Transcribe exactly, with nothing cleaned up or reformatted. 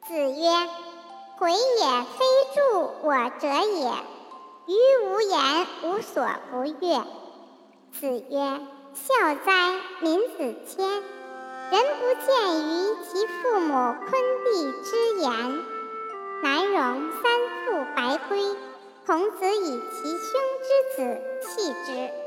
子曰：回也非助我者也，于无言无所不悦。子曰：孝哉，民子谦！人不见于其父母昆弟之言，南容三父白圭，孔子以其兄之子弃之。